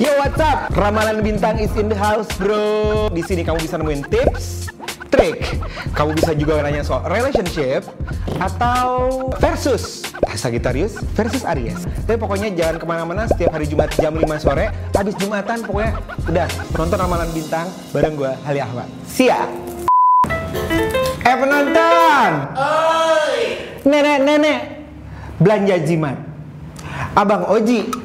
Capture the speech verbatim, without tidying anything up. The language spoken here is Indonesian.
Yo, what's up? Ramalan bintang is in the house, bro. Di sini kamu bisa nemuin tips, trik. Kamu bisa juga nanya soal relationship atau versus Sagittarius versus Aries. Tapi pokoknya jangan kemana-mana. Setiap hari Jumat jam lima sore, habis Jumatan pokoknya udah nonton Ramalan Bintang bareng gue, Hali Ahmad. Siap. Eh penonton, nenek-nenek belanja jimat, Abang Oji